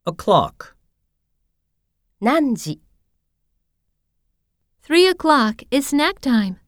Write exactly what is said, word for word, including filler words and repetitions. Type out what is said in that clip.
o'clock. 何時 Three o'clock is snack time.